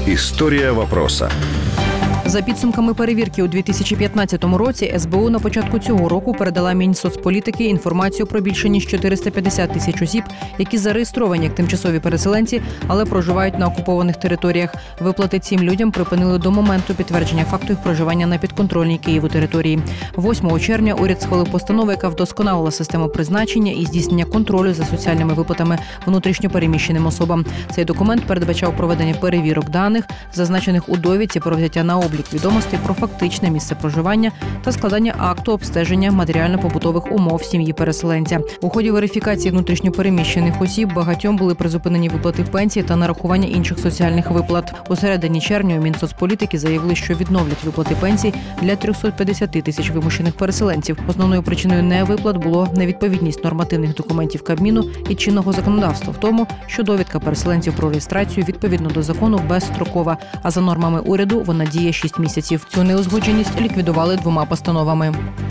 Історія вопроса. За підсумками перевірки у 2015 році СБУ на початку цього року передала Мінсоцполітики інформацію про більше ніж 450 тисяч осіб, які зареєстровані як тимчасові переселенці, але проживають на окупованих територіях. Виплати цим людям припинили до моменту підтвердження факту їх проживання на підконтрольній Києву території. 8 червня уряд схвалив постанову, яка вдосконалила систему призначення і здійснення контролю за соціальними виплатами внутрішньо переміщеним особам. Цей документ передбачав проведення перевірок даних, зазначених у довідці про взяття на облік відомостей про фактичне місце проживання та складання акту обстеження матеріально-побутових умов сім'ї переселенця. У ході верифікації внутрішньопереміщених осіб багатьом були призупинені виплати пенсії та нарахування інших соціальних виплат. У середині червня у Мінсоцполітики заявили, що відновлять виплати пенсій для 350 тисяч вимушених переселенців. Основною причиною невиплат було невідповідність нормативних документів Кабміну і чинного законодавства в тому, що довідка переселенців про реєстрацію відповідно до закону безстрокова, а за нормами уряду вона діє 6 місяців. Цю неузгодженість ліквідували 2 постановами.